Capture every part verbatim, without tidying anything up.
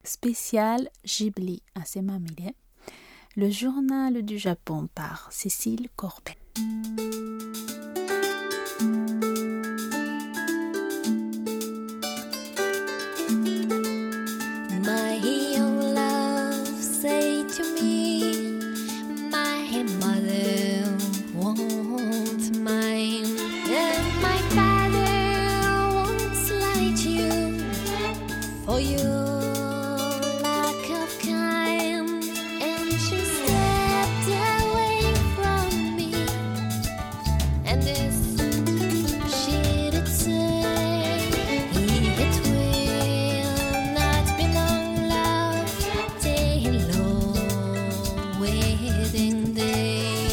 Spécial Ghibli assez mamie, le journal du Japon par Cécile Corbet. My young love say to me, my mother won't mind, and my father won't slight you for your lack of kind, and she stepped away from me, and this she did say, it will not be long, love, till our wedding day.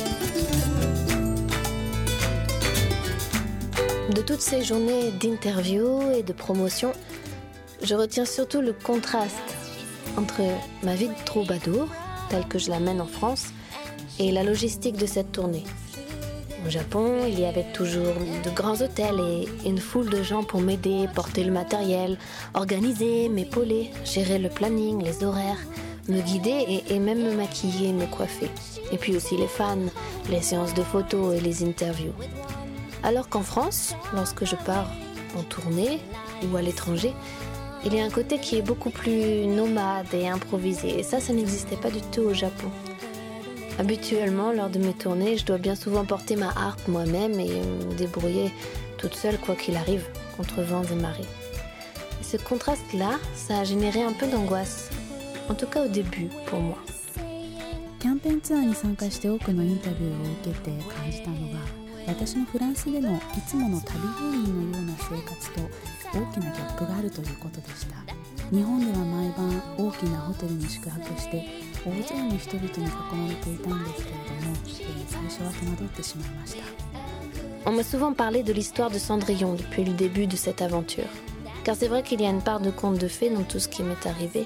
De toutes ces journées d'interviews et de promotion, je retiens surtout le contraste entre ma vie de troubadour, telle que je la mène en France, et la logistique de cette tournée. Au Japon, il y avait toujours de grands hôtels et une foule de gens pour m'aider, porter le matériel, organiser, m'épauler, gérer le planning, les horaires, me guider et, et même me maquiller, me coiffer. Et puis aussi les fans, les séances de photos et les interviews. Alors qu'en France, lorsque je pars en tournée ou à l'étranger, il y a un côté qui est beaucoup plus nomade et improvisé. Et ça, ça n'existait pas du tout au Japon. Habituellement, lors de mes tournées, je dois bien souvent porter ma harpe moi-même et me débrouiller toute seule, quoi qu'il arrive, contre vents et marées. Et ce contraste-là, ça a généré un peu d'angoisse. En tout cas au début, pour moi. キャンペーンツアーに参加して多くのインタビューを受けて感じたのが、私のフランスでのいつもの旅芸人のような生活と大きなギャップがあるということでした。日本では毎晩大きなホテルに宿泊して大勢の人々に囲まれていたんですけれども、最初は戸惑ってしまいました。 On m'a souvent parlé de l'histoire de Cendrillon depuis le début de cette aventure. Car c'est vrai qu'il y a une part de conte de fées dans tout ce qui m'est arrivé.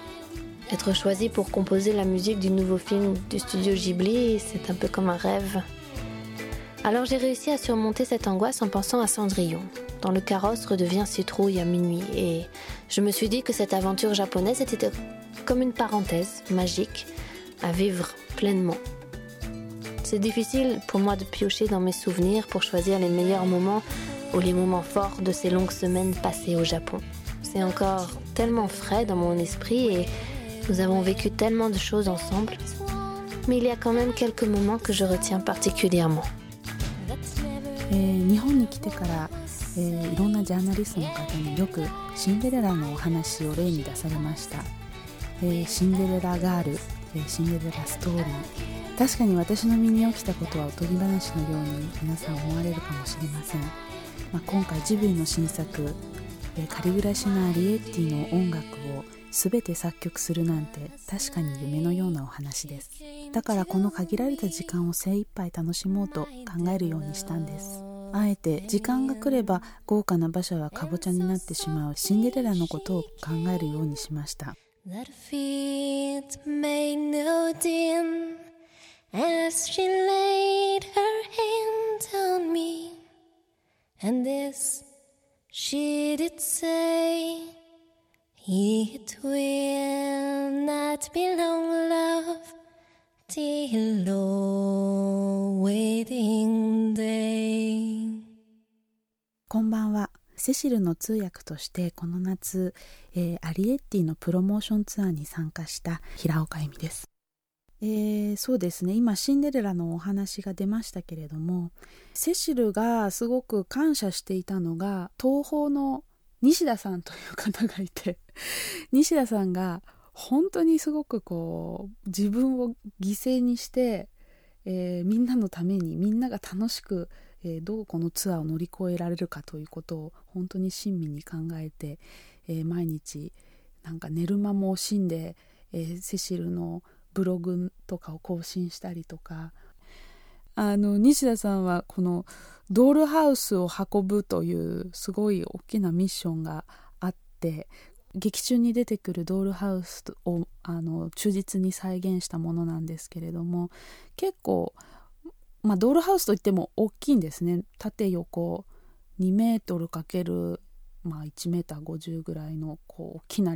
Être choisi pour composer la musique du nouveau film du studio Ghibli, c'est un peu comme un rêve. Alors j'ai réussi à surmonter cette angoisse en pensant à Cendrillon, dont le carrosse redevient citrouille à minuit. Et je me suis dit que cette aventure japonaise était comme une parenthèse magique à vivre pleinement. C'est difficile pour moi de piocher dans mes souvenirs pour choisir les meilleurs moments ou les moments forts de ces longues semaines passées au Japon. C'est encore tellement frais dans mon esprit et nous avons vécu tellement de choses ensemble. Mais il y a quand même quelques moments que je retiens particulièrement. えー、日本に来てから、えー、いろんなジャーナリストの方によくシンデレラのお話を例に出されました。えー、シンデレラガール、えー、シンデレラストーリー。確かに私の身に起きたことはおとぎ話のように皆さん思われるかもしれません。まあ、今回ジブリの新作、えー、仮暮らしのアリエッティの音楽を全て作曲するなんて確かに夢のようなお話です。だからこの限られた時間を精一杯楽しもうと考えるようにしたんです。あえて時間が来れば豪華な馬車はかぼちゃになってしまうシンデレラのことを考えるようにしました。 That feet made no dim as she laid her hand on me, and this she did say, it will not be long, love, till our wedding day. こんばんは。セシルの通訳としてこの夏、えー、アリエッティのプロモーションツアーに参加した平岡恵美です。えー、そうですね、今シンデレラのお話が出ましたけれども、セシルがすごく感謝していたのが東宝の西田さんという方がいて西田さんが本当にすごくこう自分を犠牲にして、えー、みんなのためにみんなが楽しく、えー、どうこのツアーを乗り越えられるかということを本当に親身に考えて、えー、毎日なんか寝る間も惜しんで、えー、セシルのブログとかを更新したりとか、あの西田さんはこのドールハウスを運ぶというすごい大きなミッションがあって、劇中に出てくるドールハウスをあの忠実に再現したものなんですけれども、結構、まあ、ドールハウスといっても大きいんですね。縦横にメートルかける、まあ、いちメーターごじゅうぐらいのこう大きな立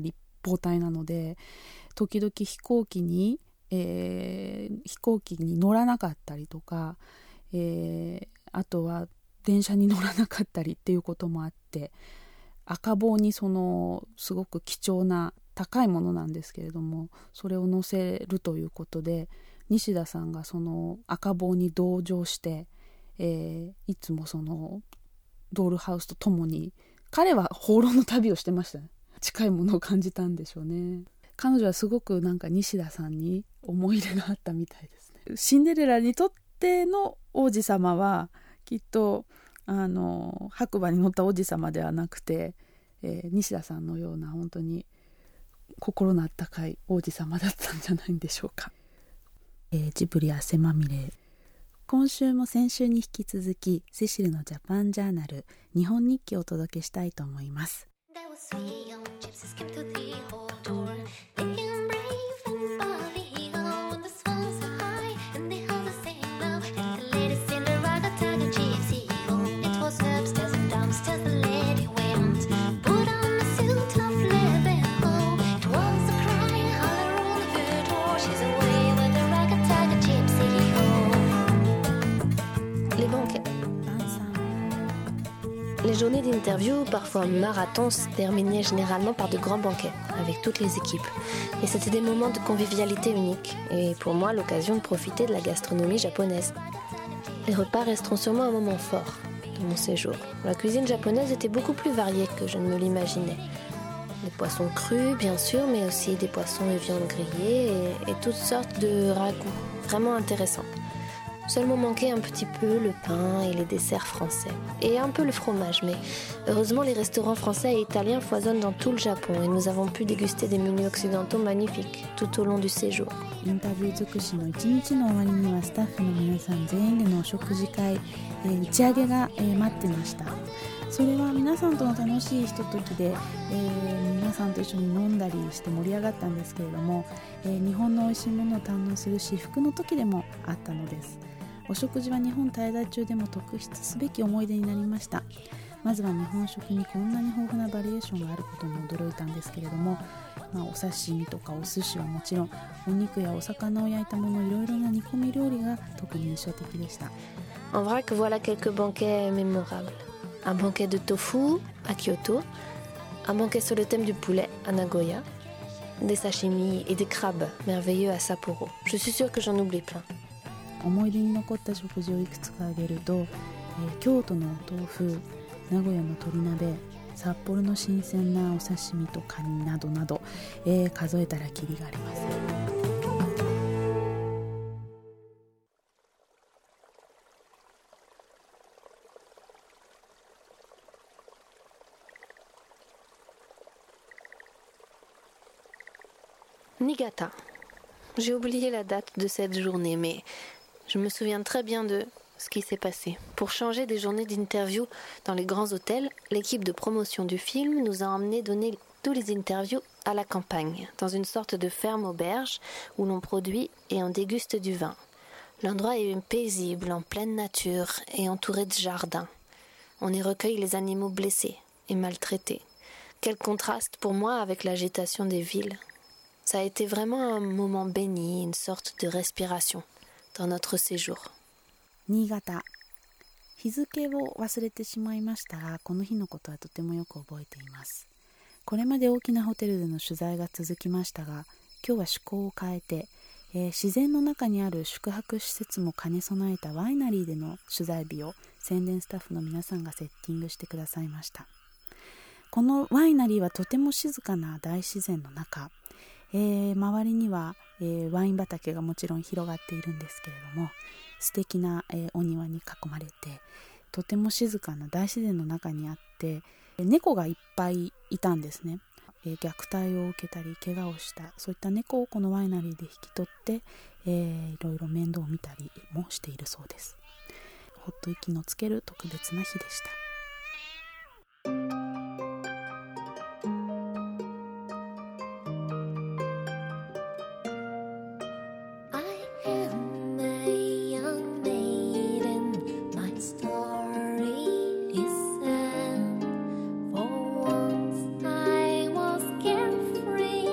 方体なので、時々飛行機に、えー、飛行機に乗らなかったりとか、えー、あとは電車に乗らなかったりっていうこともあって、赤棒にそのすごく貴重な高いものなんですけれども、それを乗せるということで、西田さんがその赤棒に同乗して、えー、いつもそのドールハウスとともに、彼は放浪の旅をしてましたね。近いものを感じたんでしょうね。彼女はすごくなんか西田さんに思い入れがあったみたいですね。シンデレラにとっての王子様はきっとあの白馬に乗った王子様ではなくて、えー、西田さんのような本当に心のあったかい王子様だったんじゃないんでしょうか。えー、ジブリ汗まみれ、今週も先週に引き続きセシルのジャパンジャーナル日本日記をお届けしたいと思います。 Les journées d'interview, parfois marathon, se terminaient généralement par de grands banquets avec toutes les équipes. Et c'était des moments de convivialité uniques et pour moi l'occasion de profiter de la gastronomie japonaise. Les repas resteront sûrement un moment fort de mon séjour. La cuisine japonaise était beaucoup plus variée que je ne me l'imaginais. Des poissons crus bien sûr, mais aussi des poissons et viandes grillées et, et toutes sortes de ragoûts vraiment intéressants. Seulement manquait un petit peu le pain et les desserts français. Et un peu le fromage, mais heureusement les restaurants français et italiens foisonnent dans tout le Japon et nous avons pu déguster des menus occidentaux magnifiques tout au long du séjour. インタビュー尽くしの一日の終わりにはスタッフの皆さん全員でのお食事会、えー、打ち上げが、えー、待ってました。それは皆さんとの楽しいひとときで、えー、皆さんと一緒に飲んだりして盛り上がったんですけれども、えー、日本の美味しいものを堪能する至福の時でもあったのです。お食事は日本滞在中でも特筆すべき思い出になりました。まずは日本食にこんなに豊富なバリエーションがあることに驚いたんですけれども、まあ、お刺身とかお寿司はもちろん、お肉やお魚を焼いたもの、いろいろな煮込み料理が特に印象的でした。 En vrai que voilà quelques banquets mémorables. Un banquet de tofu à Kyoto, un banquet sur le thème du poulet à Nagoya, des sashimi et des crabes merveilleux à Sapporo. Je suis sûre que j'en oublie plein. 思い出に残った食事をいくつか挙げると、えー、京都のお豆腐、名古屋の鶏鍋、札幌の新鮮なお刺身とカニなどなど、えー、数えたらキリがありません。 Niigata. J'ai oublié la date de cette journée, mais je me souviens très bien de ce qui s'est passé. Pour changer des journées d'interview dans les grands hôtels, l'équipe de promotion du film nous a emmenés donner tous les interviews à la campagne, dans une sorte de ferme auberge où l'on produit et on déguste du vin. L'endroit est paisible, en pleine nature et entouré de jardins. On y recueille les animaux blessés et maltraités. Quel contraste pour moi avec l'agitation des villes. Ça a été vraiment un moment béni, une sorte de respiration dans notre séjour. 新潟。日付を忘れてしまいましたが、この日のことはとてもよく覚えています。これまで大きなホテルでの取材が続きましたが、今日は趣向を変えて、えー、自然の中にある宿泊施設も兼ね備えたワイナリーでの取材日を宣伝スタッフの皆さんがセッティングしてくださいました。このワイナリーはとても静かな大自然の中、えー、周りには、えー、ワイン畑がもちろん広がっているんですけれども、素敵な、えー、お庭に囲まれて、とても静かな大自然の中にあって、猫がいっぱいいたんですね。えー、虐待を受けたり怪我をしたそういった猫をこのワイナリーで引き取って、えー、いろいろ面倒を見たりもしているそうです。ほっと息のつける特別な日でした。 Free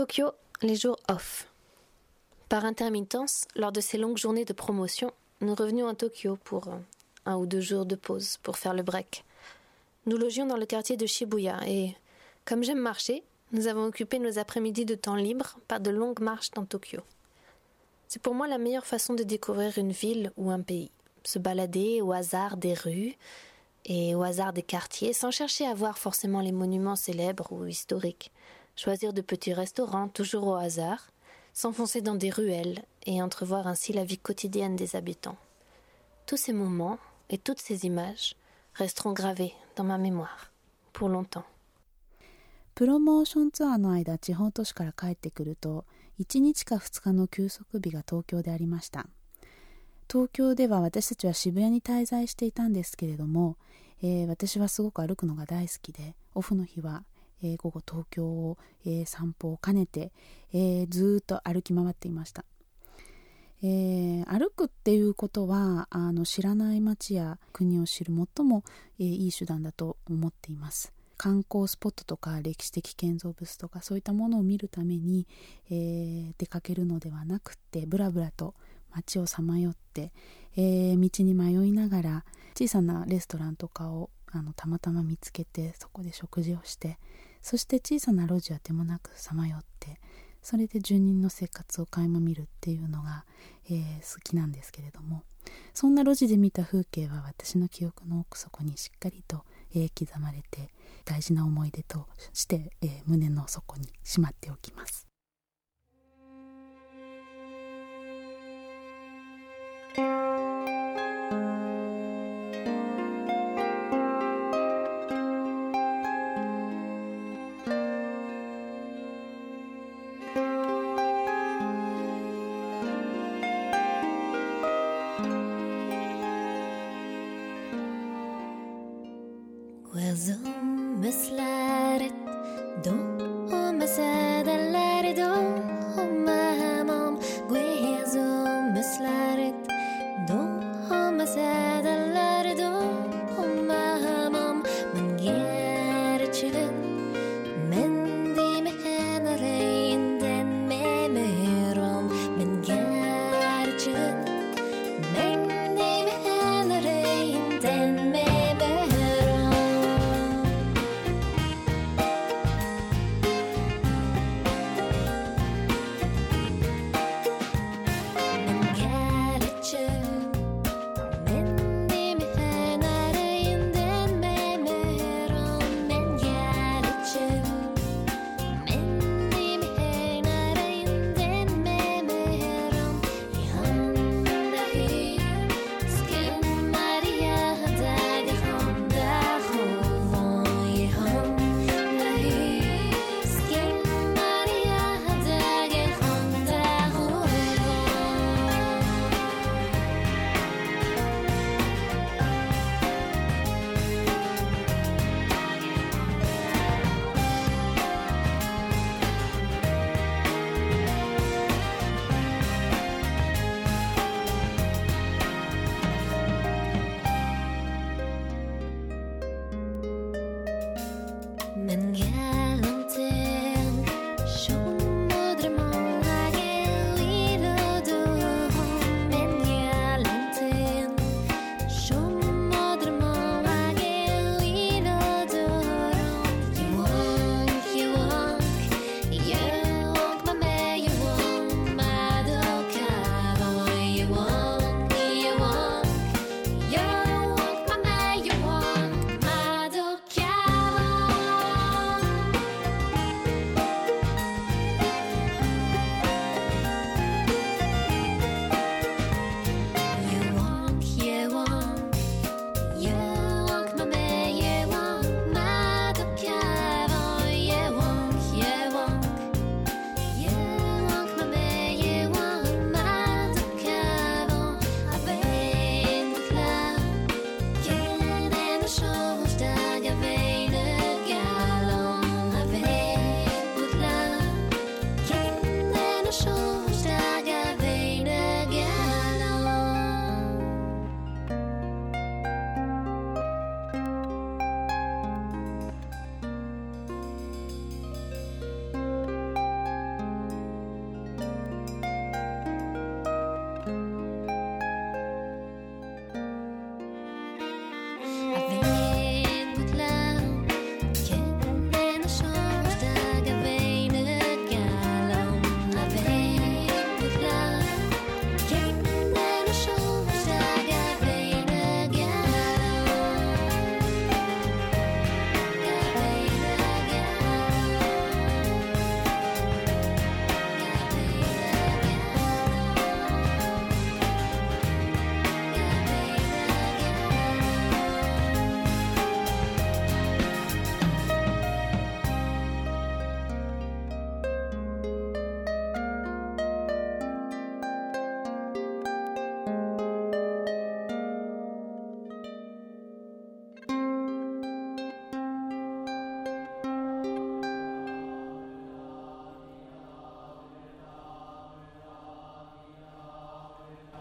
Tokyo, les jours off. Par intermittence, lors de ces longues journées de promotion, nous revenions à Tokyo pour un ou deux jours de pause pour faire le break. Nous logions dans le quartier de Shibuya et, comme j'aime marcher, nous avons occupé nos après-midi de temps libre par de longues marches dans Tokyo. C'est pour moi la meilleure façon de découvrir une ville ou un pays. Se balader au hasard des rues et au hasard des quartiers sans chercher à voir forcément les monuments célèbres ou historiques. Choisir de petits restaurants toujours au hasard, s'enfoncer dans des ruelles et entrevoir ainsi la vie quotidienne des habitants. Tous ces moments et toutes ces images resteront gravés dans ma mémoire pour longtemps. プロモーションツアーの間、地方都市から帰ってくるといちにちかふつかの休息日が東京でありました。東京では私たちは渋谷に滞在していたんですけれども、えー、私はすごく歩くのが大好きで、オフの日は、えー、午後東京を、えー、散歩を兼ねて、えー、ずーっと歩き回っていました。えー、歩くっていうことはあの知らない街や国を知る最も、えー、いい手段だと思っています。観光スポットとか歴史的建造物とかそういったものを見るために、えー、出かけるのではなくて、ブラブラと街をさまよって、えー、道に迷いながら小さなレストランとかをあのたまたま見つけて、そこで食事をして、そして小さな路地は手もなくさまよって、それで住人の生活を垣間見るっていうのが、えー、好きなんですけれども、そんな路地で見た風景は私の記憶の奥底にしっかりと、えー、刻まれて、大事な思い出として、えー、胸の底にしまっておきます。 Gözüm ıslarıt, doğum sedeleri doğum hamam. Gözüm ıslarıt, doğum sedeleri doğum hamam. Men gerçekten men de mehenreyinden memerom. Men gerçekten men de mehenreyinden memerom. Here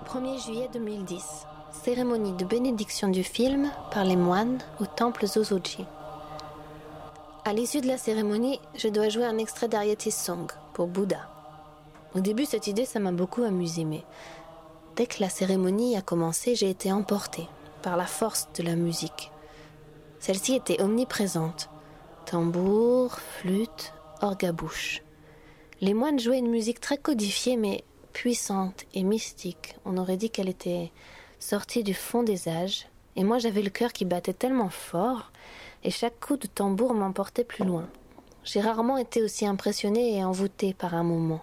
premier juillet deux mille dix, cérémonie de bénédiction du film par les moines au temple Zozoji. À l'issue de la cérémonie, je dois jouer un extrait d'Arietti's Song pour Bouddha. Au début, cette idée, ça m'a beaucoup amusée, mais dès que la cérémonie a commencé, j'ai été emportée par la force de la musique. Celle-ci était omniprésente. Tambour, flûte, orgue à bouche. Les moines jouaient une musique très codifiée, mais puissante et mystique. On aurait dit qu'elle était sortie du fond des âges. Et moi, j'avais le cœur qui battait tellement fort, et chaque coup de tambour m'emportait plus loin. J'ai rarement été aussi impressionnée et envoûtée par un moment.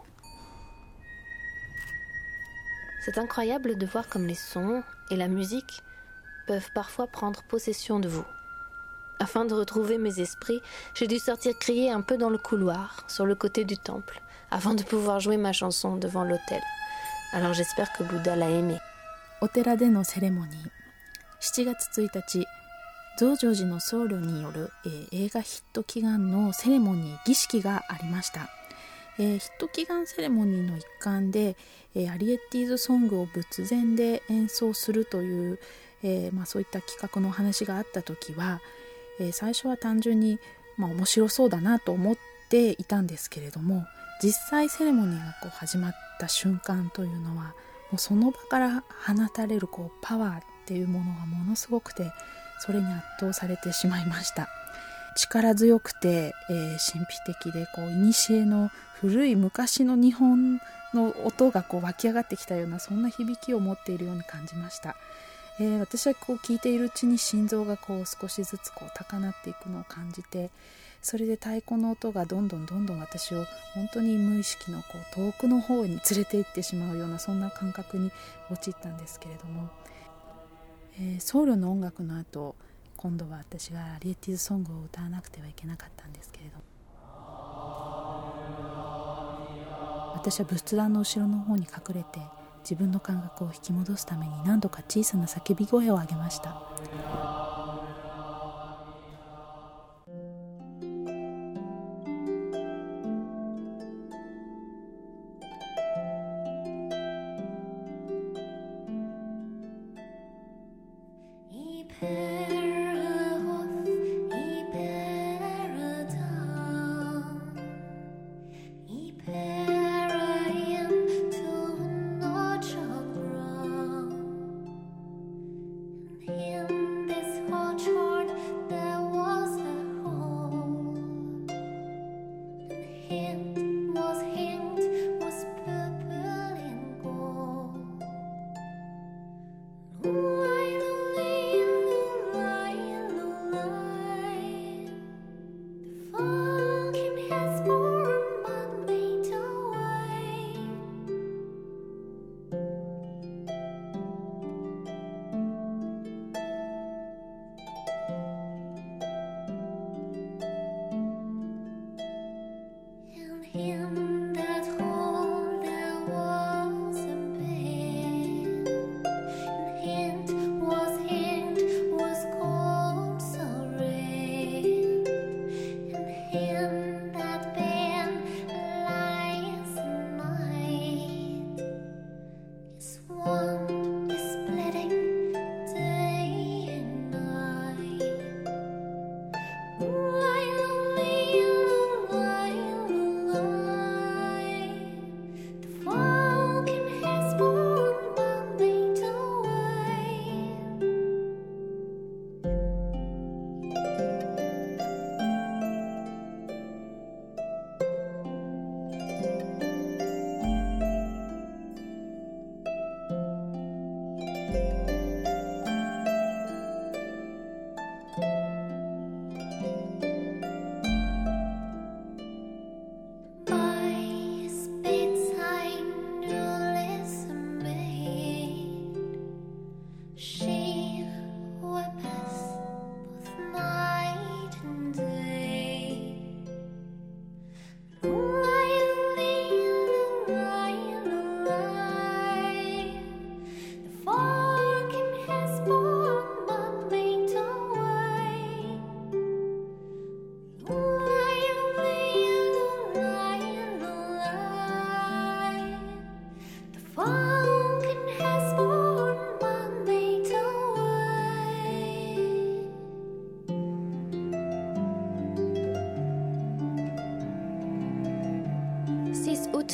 C'est incroyable de voir comme les sons et la musique peuvent parfois prendre possession de vous. Afin de retrouver mes esprits, j'ai dû sortir crier un peu dans le couloir, sur le côté du temple, avant de pouvoir jouer ma chanson devant l'autel. Alors j'espère que Bouddha l'a aimé. お寺でのセレモニー。しちがつついたち、増上寺の僧侶による、えー、映画ヒット祈願のセレモニー儀式がありました。えー、ヒット祈願セレモニーの一環で、えー、アリエッティーズソングを仏前で演奏するという、えーまあ、そういった企画の話があった時は、えー、最初は単純に、まあ、面白そうだなと思っていたんですけれども、実際セレモニーがこう始まった瞬間というのはもうその場から放たれるこうパワーっていうものがものすごくて、それに圧倒されてしまいました。力強くて、えー、神秘的でこう古の古い昔の日本の音がこう湧き上がってきたような、そんな響きを持っているように感じました。えー、私はこう聞いているうちに心臓がこう少しずつこう高鳴っていくのを感じて、それで太鼓の音がどんどんどんどん私を本当に無意識のこう遠くの方に連れて行ってしまうような、そんな感覚に陥ったんですけれども、えー、僧侶の音楽の後、今度は私がアリエッティーズソングを歌わなくてはいけなかったんですけれども、私は仏壇の後ろの方に隠れて自分の感覚を引き戻すために何度か小さな叫び声を上げました。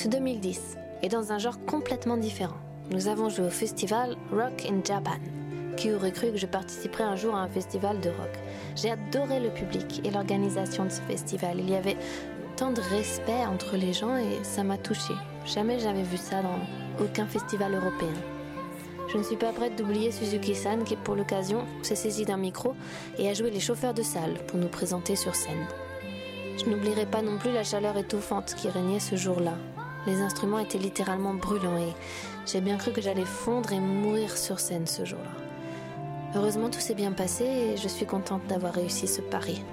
C'est deux mille dix, et dans un genre complètement différent. Nous avons joué au festival Rock in Japan. Qui aurait cru que je participerais un jour à un festival de rock? J'ai adoré le public et l'organisation de ce festival. Il y avait tant de respect entre les gens et ça m'a touchée. Jamais j'avais vu ça dans aucun festival européen. Je ne suis pas prête d'oublier Suzuki-san qui, pour l'occasion, s'est saisi d'un micro et a joué les chauffeurs de salle pour nous présenter sur scène. Je n'oublierai pas non plus la chaleur étouffante qui régnait ce jour-là. Les instruments étaient littéralement brûlants et j'ai bien cru que j'allais fondre et mourir sur scène ce jour-là. Heureusement, tout s'est bien passé et je suis contente d'avoir réussi ce pari.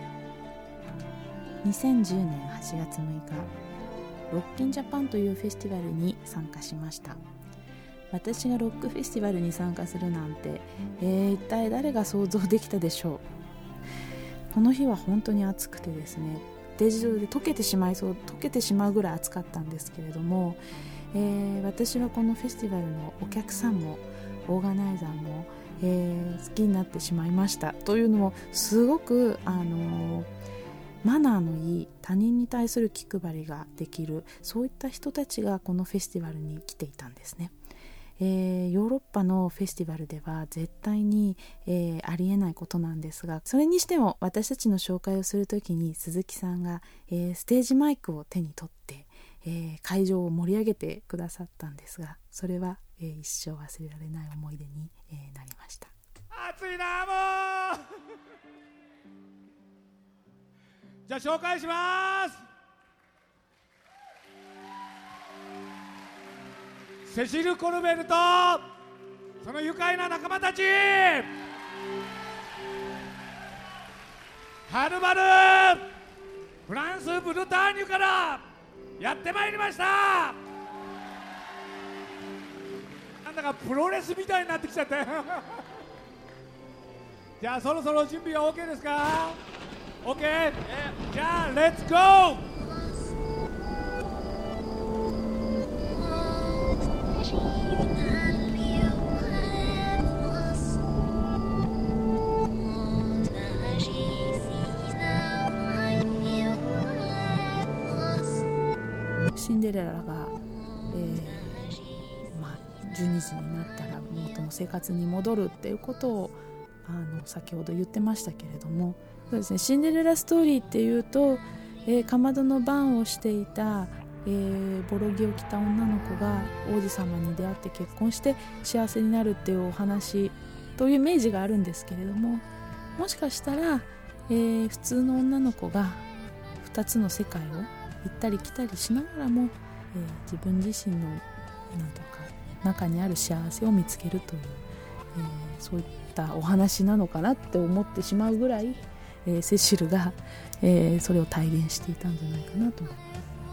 にせんじゅうねんはちがつむいか、ロッキンジャパンというフェスティバルに参加しました。私がロックフェスティバルに参加するなんて、えー、一体誰が想像できたでしょう。この日は本当に暑くてですね、ステージ上で溶けてしまいそう溶けてしまうぐらい暑かったんですけれども、えー、私はこのフェスティバルのお客さんもオーガナイザーも、えー、好きになってしまいました。というのもすごくあのー、マナーのいい他人に対する気配りができる、そういった人たちがこのフェスティバルに来ていたんですね。えー、ヨーロッパのフェスティバルでは絶対に、えー、ありえないことなんですが、それにしても私たちの紹介をするときに鈴木さんが、えー、ステージマイクを手に取って、えー、会場を盛り上げてくださったんですが、それは、えー、一生忘れられない思い出に、えー、なりました。 暑いなもうじゃあ紹介します。セシル・コルベルとその愉快な仲間たち、はるばるフランス・ブルターニュからやってまいりました。なんだかプロレスみたいになってきちゃってじゃあそろそろ準備は OK ですか？ OK、yeah. じゃあレッツゴー。 シンデレラが、えーまあ、じゅうにじになったら元の生活に戻るっていうことをあの先ほど言ってましたけれども、そうですね、シンデレラストーリーっていうと、えー、かまどの番をしていた、えー、ボロ着を着た女の子が王子様に出会って結婚して幸せになるっていうお話というイメージがあるんですけれども、もしかしたら、えー、普通の女の子がふたつの世界を行ったり来たりしながらも、えー、自分自身のなんとか中にある幸せを見つけるという、えー、そういったお話なのかなって思ってしまうぐらい、えー、セシルが、えー、それを体現していたんじゃないかなと思います。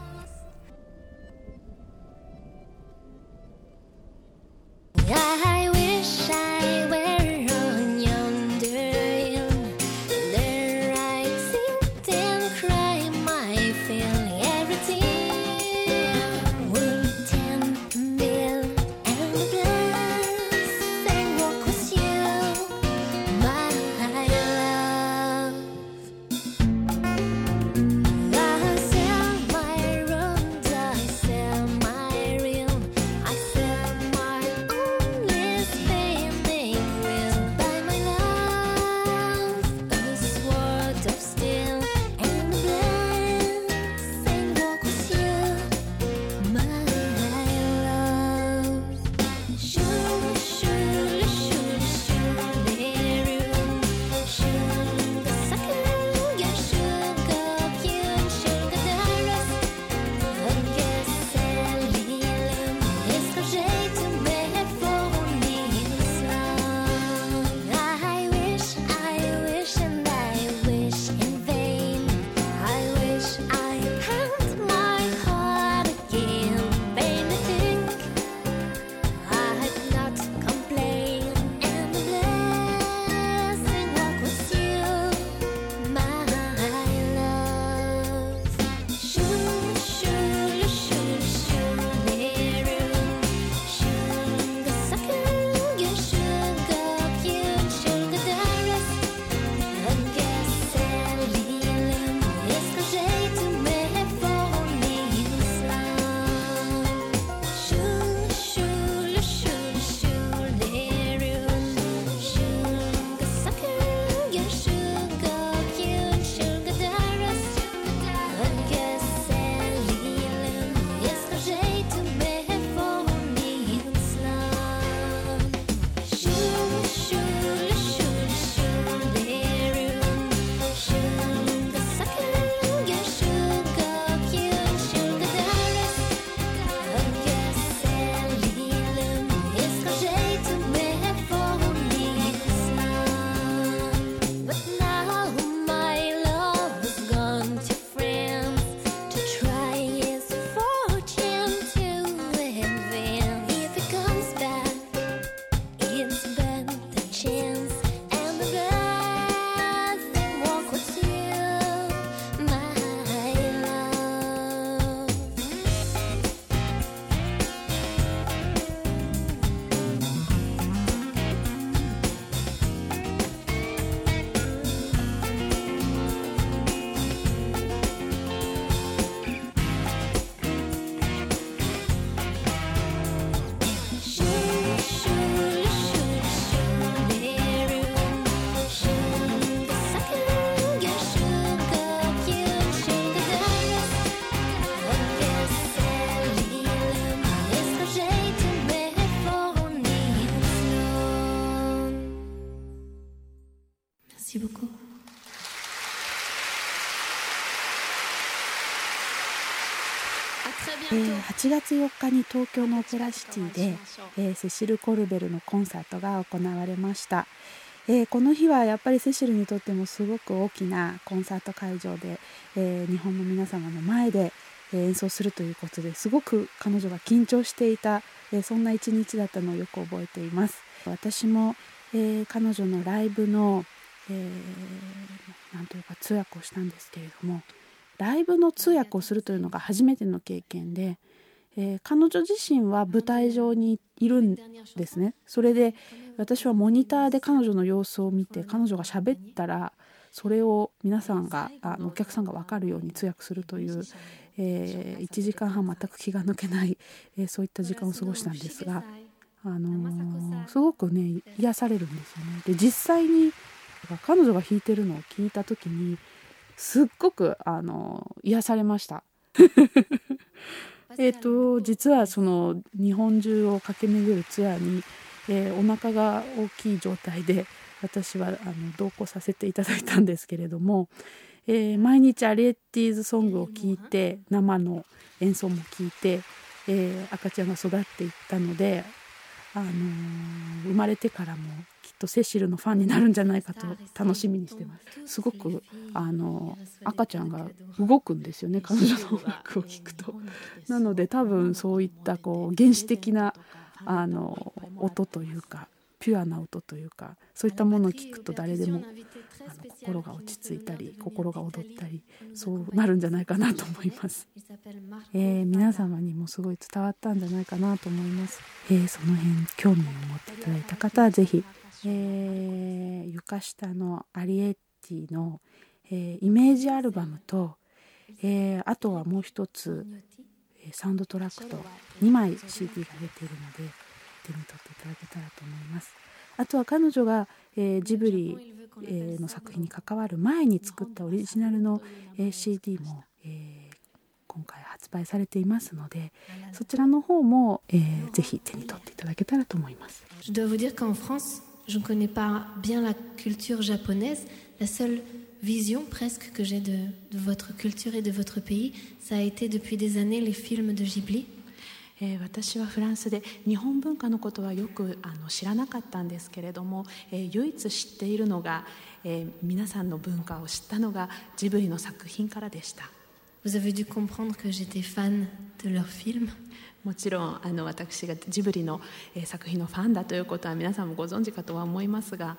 I wish I were on yonder hill, there I'd sit and cry my fill. Every tear would tend bill and glass and walk with you, my love. I sell my Merci beaucoup. えー、はちがつよっかに東京のオペラシティで、えー、セシル・コルベルのコンサートが行われました。えー、この日はやっぱりセシルにとってもすごく大きなコンサート会場で、えー、日本の皆様の前で、えー、演奏するということですごく彼女が緊張していた、えー、そんな一日だったのをよく覚えています。私も、えー、彼女のライブの、えー、なんというか通訳をしたんですけれども、ライブの通訳をするというのが初めての経験で、えー、彼女自身は舞台上にいるんですね。それで私はモニターで彼女の様子を見て、彼女が喋ったらそれを皆さんがあのお客さんが分かるように通訳するという、えー、いちじかんはん全く気が抜けない、えー、そういった時間を過ごしたんですが、あのー、すごくね癒されるんですよね。で実際に彼女が弾いてるのを聞いた時にすっごくあの癒されましたえっと実はその日本中を駆け巡るツアーに、えー、お腹が大きい状態で私はあの同行させていただいたんですけれども、えー、毎日アリエッティーズソングを聴いて生の演奏も聴いて、えー、赤ちゃんが育っていったので、あのー、生まれてからもきっとセシルのファンになるんじゃないかと楽しみにしてます。すごくあの赤ちゃんが動くんですよね、彼女の音楽を聴くと。なので多分そういったこう原始的なあの音というかピュアな音というか、そういったものを聞くと誰でもあの心が落ち着いたり心が躍ったりそうなるんじゃないかなと思います。えー、皆様にもすごい伝わったんじゃないかなと思います。えー、その辺興味を持っていただいた方はぜひ、えー、床下のアリエッティの、えー、イメージアルバムと、えー、あとはもう一つサウンドトラックとにまい シーディー が出ているので手に取っていただけたらと思います。あとは彼女が、えー、ジブリ、えー、の作品に関わる前に作ったオリジナルの、えー、シーディー も、えー、今回発売されていますので、そちらの方も、えー、ぜひ手に取っていただけたらと思います。 Je dois vous dire qu'en France, je ne connais pas bien la culture japonaise. La seule vision presque que j'ai de, de votre culture et de votre pays, ça a été depuis des années les films de Ghibli. えー、私はフランスで日本文化のことはよくあの知らなかったんですけれども、えー、唯一知っているのが、えー、皆さんの文化を知ったのがジブリの作品からでした。 Vous avez dû comprendre que j'étais fan de leurs films. もちろんあの私がジブリの、えー、作品のファンだということは皆さんもご存知かとは思いますが、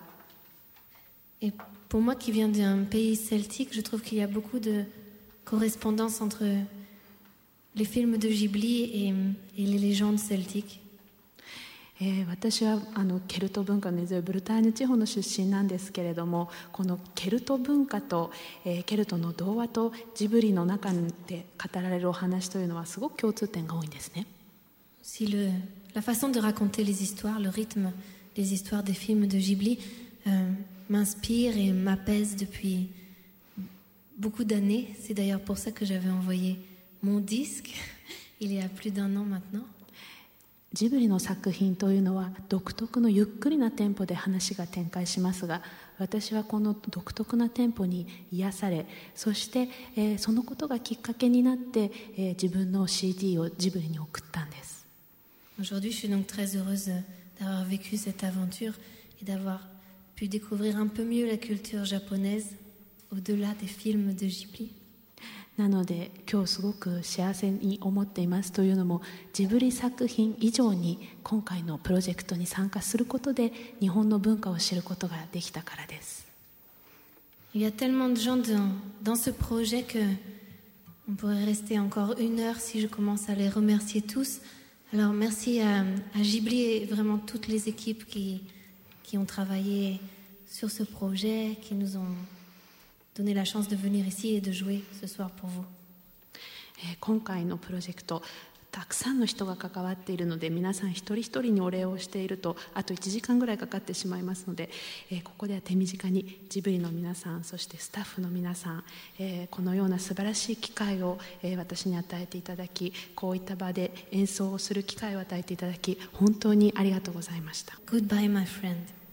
Et pour moi qui viens d'un pays celtique, je trouve qu'il y a beaucoup de correspondance entre les films de Ghibli et, et les légendes celtiques. えー、私はあのケルト文化の根強いブルターニュ地方の出身なんですけれども、このケルト文化と、えー、ケルトの童話とジブリの中で語られるお話というのはすごく共通点が多いんですね。 Si le, la façon de raconter les histoires, le rythme des histoires des films de Ghibli euh, m'inspire et m'apaise depuis beaucoup d'années. C'est d'ailleurs pour ça que j'avais envoyé mon disque il y a plus d'un an maintenant. ジブリの作品というのは独特のゆっくりなテンポで話が展開しますが、私はこの独特なテンポに癒され、そして、えー、そのことがきっかけになって、えー、自分の シーディー をジブリに送ったんです。 Aujourd'hui, je suis donc très heureuse d'avoir vécu cette aventure et d'avoir pu découvrir un peu mieux la culture japonaise au-delà des films de Ghibli. なので今日すごく幸せに思っていますというのも、ジブリ作品以上に今回のプロジェクトに参加することで日本の文化を知ることができたからです。 Il y a tellement de gens dans, dans ce projet que on pourrait rester encore une heure si je commence à les remercier tous. Alors merci à, à Ghibli et vraiment toutes les équipes qui, qui ont travaillé sur ce projet, qui nous ont donner la chance de venir ici et de jouer ce soir pour vous. 今回のプロジェクトたくさんの人が関わっているので、皆さん一人一人にお礼をしているとあといちじかんぐらいかかってしまいますので、えー、ここでは手短にジブリの皆さん、そしてスタッフの皆さん、えー、このような素晴らしい機会を、えー、私に与えていただき、こういった場で演奏をする機会を与えていただき、本当にありがとうございました。 Goodbye, my friend.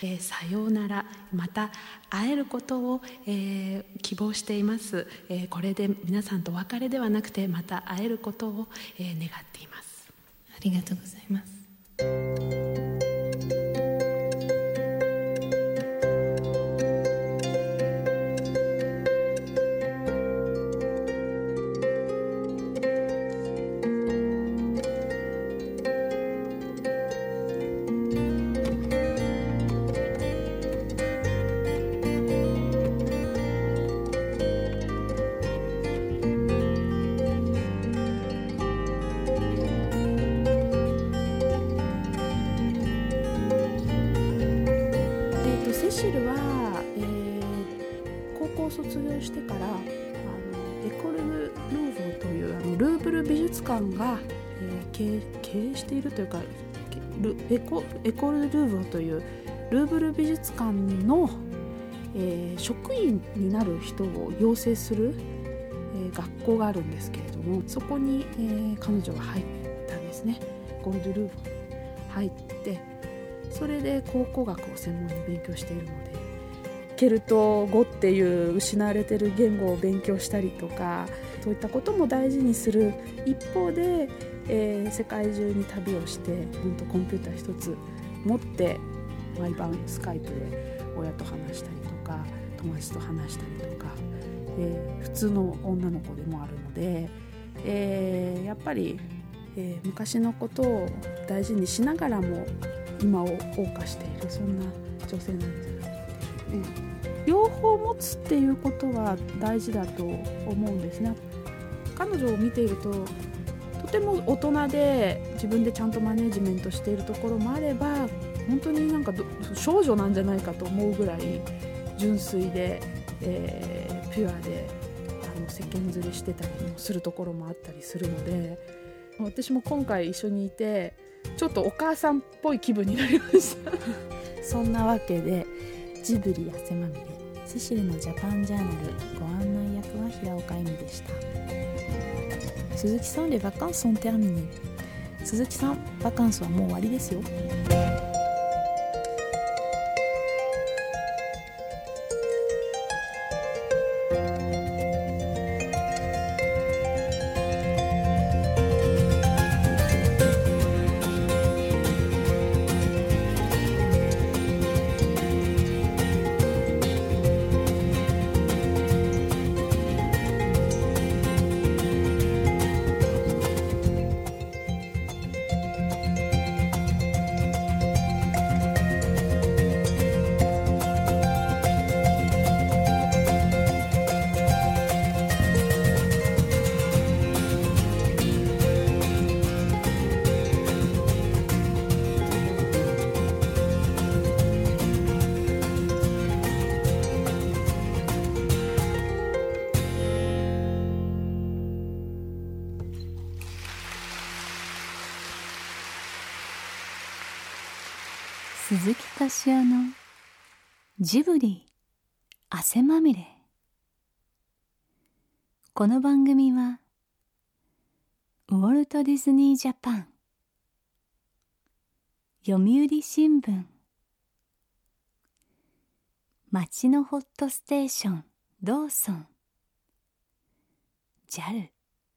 えー、さようなら、また会えることを、えー、希望しています、えー、これで皆さんとお別れではなくてまた会えることを、えー、願っています。 ありがとうございます。 セシルは、えー、高校卒業してからあのエコル・ルーヴォというあのルーブル美術館が、えー、経, 経営しているというかル エ, コエコル・ルーヴォというルーブル美術館の、えー、職員になる人を養成する、えー、学校があるんですけれども、そこに、えー、彼女が入ったんですね。ゴールド・ルーヴォ入ってそれで考古学を専門に勉強しているので、ケルト語っていう失われている言語を勉強したりとか、そういったことも大事にする一方で、えー、世界中に旅をして本当コンピューター一つ持って毎晩スカイプで親と話したりとか友達と話したりとか、えー、普通の女の子でもあるので、えー、やっぱり、えー、昔のことを大事にしながらも今を謳歌している、そんな女性なんじゃないですかね。両方持つっていうことは大事だと思うんですね。彼女を見ているととても大人で自分でちゃんとマネジメントしているところもあれば、本当になんか少女なんじゃないかと思うぐらい純粋で、えー、ピュアであの世間釣りしてたりもするところもあったりするので、私も今回一緒にいてちょっとお母さんっぽい気分になりましたそんなわけでジブリ汗まみれセシルのジャパンジャーナルご案内役は平岡恵美でした。鈴木さん、レバカンスsont terminées。鈴木さん、バカンスはもう終わりですよ。 鈴木敏夫のジブリ汗まみれ。この番組はウォルト・ディズニー・ジャパン、読売新聞、街のホットステーションローソン、 ジャル、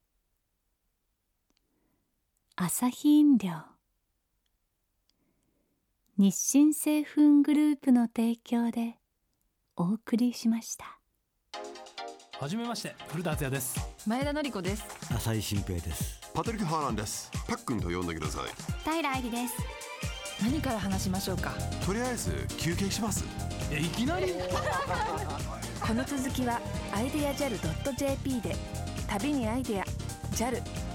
アサヒ飲料、日清製粉グループの提供でお送りしました。 はじめまして、古田敦也です。 前田典子です。 浅井新平です。 パトリック・ハーランです。パックンと呼んでください。 平愛理です。何から話しましょうか。 とりあえず休憩します。 え、いきなりこの続きはアイデア ジャル ドット ジェーピー で。旅にアイデア ジャル